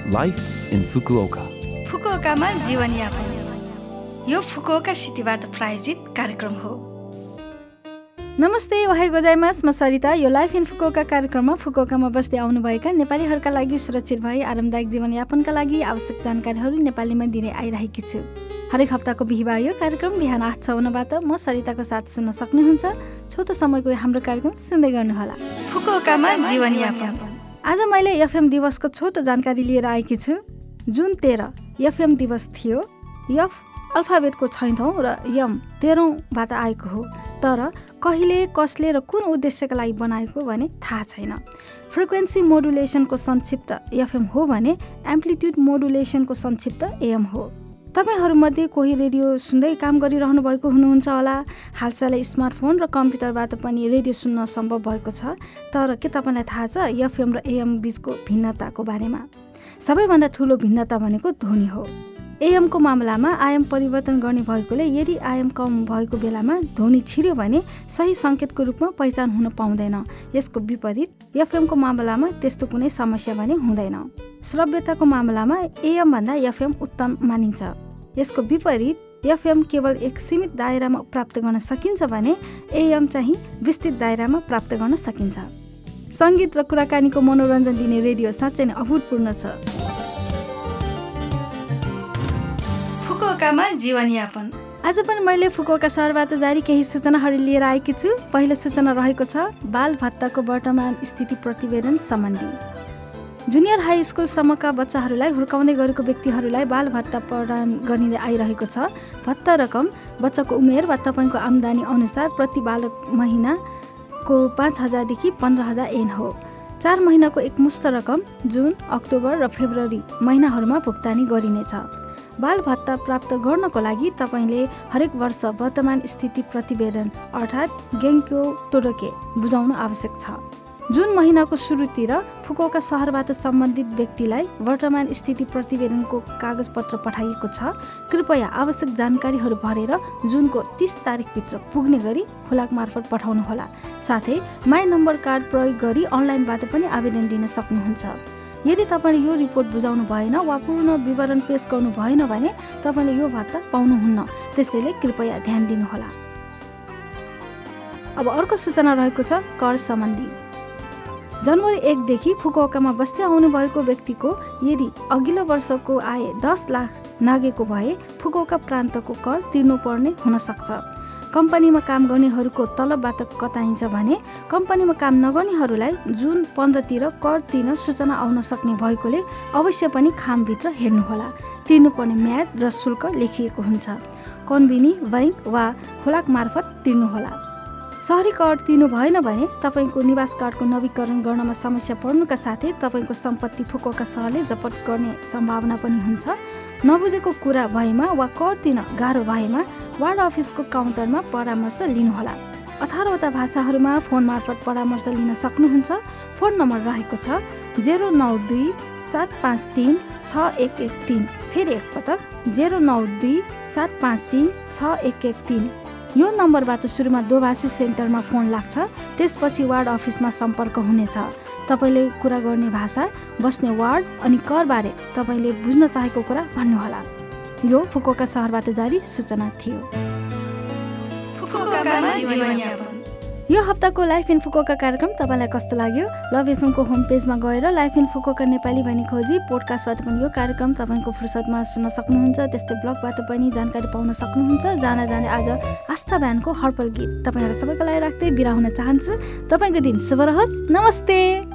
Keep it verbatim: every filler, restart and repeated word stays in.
Life in Fukuoka. फुकुओकामा जीवनयापन यो Fukuoka सिटीबाट प्रायोजित कार्यक्रम हो। नमस्ते, ओहाई गोजाइमास, म सरिता। यो लाइफ इन फुकुओका कार्यक्रममा फुकुओकामा बस्दै आउनुभएका नेपालीहरूका लागि सुरक्षित भई आरामदायक जीवनयापनका लागि आवश्यक जानकारीहरू नेपालीमा दिने आइरहेकी छु। हरेक हप्ताको बिहिबार यो कार्यक्रम बिहान आठ छवन्नबाट म सरिताको साथ सुन्न सक्नुहुन्छ। छोटो समयको हाम्रो कार्यक्रम सुन्दै गर्नुहोला। फुकुओकामा जीवनयापन। आज मैले एफएम दिवसको छोटो जानकारी लिएर आएकी छु। जुन तेह्र एफएम दिवस थियो। एफ अल्फाबेटको छैठौँ र एम तेह्रौँबाट आएको हो, तर कहिले, कसले र कुन उद्देश्यका लागि बनाएको भने थाहा छैन। फ्रिक्वेन्सी मोडुलेसनको संक्षिप्त एफएम हो भने एम्प्लिट्युड मोडुलेसनको संक्षिप्त एएम हो। तपाईँहरूमध्ये कोही रेडियो सुन्दै काम गरिरहनु भएको हुनुहुन्छ होला। हालसालै स्मार्टफोन र कम्प्युटरबाट पनि रेडियो सुन्न सम्भव भएको छ। तर के तपाईँलाई थाहा छ एफएम र एएम बिचको भिन्नताको बारेमा? सबैभन्दा ठुलो भिन्नता भनेको ध्वनि हो। एएमको मामलामा आयाम परिवर्तन गर्ने भएकोले यदि आयाम कम भएको बेलामा ध्वनि छिर्यो भने सही सङ्केतको रूपमा पहिचान हुन पाउँदैन। यसको विपरीत एफएमको मामलामा त्यस्तो कुनै समस्या भने हुँदैन। श्रव्यताको मामलामा एएमभन्दा एफएम उत्तम मानिन्छ। यसको विपरीत एफएम केवल एक सीमित दायरामा प्राप्त गर्न सकिन्छ भने एएम चाहिँ विस्तृत दायरामा प्राप्त गर्न सकिन्छ। सङ्गीत र कुराकानीको मनोरञ्जन दिने रेडियो साँच्चै नै अभूतपूर्ण छ। फुकुओकामा जीवनयापन। आज पनि मैले फुकुओका सहरबाट जारी केही सूचनाहरू लिएर आएकी छु। पहिलो सूचना रहेको छ बाल भत्ताको वर्तमान स्थिति प्रतिवेदन सम्बन्धी। जुनियर हाई स्कुलसम्मका बच्चाहरूलाई हुर्काउँदै गरेको व्यक्तिहरूलाई बाल भत्ता प्रदान गरिँदै आइरहेको छ। भत्ता रकम बच्चाको उमेर वा तपाईँको आम्दानी अनुसार प्रति बालक महिनाको पाँच हजारदेखि पन्ध्र हजार एन हो। चार महिनाको एकमुष्ट रकम जुन, अक्टोबर र फेब्रुअरी महिनाहरूमा भुक्तानी गरिनेछ। बाल भत्ता प्राप्त गर्नको लागि तपाईँले हरेक वर्ष वर्तमान स्थिति प्रतिवेदन अर्थात् गेङ्क्यो टोडोके बुझाउनु आवश्यक छ। जुन महिनाको सुरुतिर फुकुओका सहरबाट सम्बन्धित व्यक्तिलाई वर्तमान स्थिति प्रतिवेदनको कागजपत्र पठाइएको छ। कृपया आवश्यक जानकारीहरू भरेर जुनको तीस तारिकभित्र पुग्ने गरी फुलाक मार्फत पठाउनुहोला। साथै माई नम्बर कार्ड प्रयोग गरी अनलाइनबाट पनि आवेदन दिन सक्नुहुन्छ। यदि तपाईँले यो रिपोर्ट बुझाउनु भएन वा पूर्ण विवरण पेश गर्नु भएन भने तपाईँले यो भत्ता पाउनुहुन्न। त्यसैले कृपया ध्यान दिनुहोला। अब अर्को सूचना रहेको छ कर सम्बन्धी। जनवरी एकदेखि फुकुओकामा बस्दै आउनुभएको व्यक्तिको यदि अघिल्लो वर्षको आय दस लाख नागेको भए फुकुओका प्रान्तको कर तिर्नुपर्ने हुन सक्छ। कम्पनीमा काम गर्नेहरूको तलबबाट कटाइन्छ भने कम्पनीमा काम नगर्नेहरूलाई जुन पन्ध्रतिर कर तिर्न सूचना आउन सक्ने भएकोले अवश्य पनि खामभित्र हेर्नुहोला। तिर्नुपर्ने म्याद र शुल्क लेखिएको हुन्छ। कन्भिनी, बैंक वा खोलाक मार्फत तिर्नुहोला। सहरी कर तिर्नु भएन भने तपाईँको निवास कार्डको नवीकरण गर्नमा समस्या पर्नुका साथै तपाईँको सम्पत्ति फुकुओका सहरले जफत गर्ने सम्भावना पनि हुन्छ। नबुझेको कुरा भएमा वा कर तिर्न गाह्रो भएमा वार्ड अफिसको काउन्टरमा परामर्श लिनुहोला। अठारवटा भाषाहरूमा फोन मार्फत परामर्श लिन सक्नुहुन्छ। फोन नम्बर रहेको छ जेरो नौ दुई सात पाँच तिन छ एक एक तिन। फेरि एकपटक जेरो नौ दुई सात पाँच तिन छ एक एक तिन। यो नम्बरबाट सुरुमा दोभाषी सेन्टरमा फोन लाग्छ। त्यसपछि वार्ड अफिसमा सम्पर्क हुनेछ। तपाईँले कुरा गर्ने भाषा, बस्ने वार्ड अनि करबारे तपाईँले बुझ्न चाहेको कुरा भन्नुहोला। यो फुकुओका सहरबाट जारी सूचना थियो। यो हप्ताको लाइफ इन फुकुओका कार्यक्रम तपाईँलाई कस्तो लाग्यो? लभ एफएमको होम पेजमा गएर लाइफ इन फुकुओका नेपाली भनी खोजी पोडकास्टबाट पनि यो कार्यक्रम तपाईँको फुर्सदमा सुन्न सक्नुहुन्छ। त्यस्तै ब्लगबाट पनि जानकारी पाउन सक्नुहुन्छ। जान जाने आज आस्था ब्यान्डको हर्पल गीत तपाईँहरू सबैको लागि राख्दै बिदा हुन चाहन्छु। तपाईँको दिन शुभ रहोस्। नमस्ते।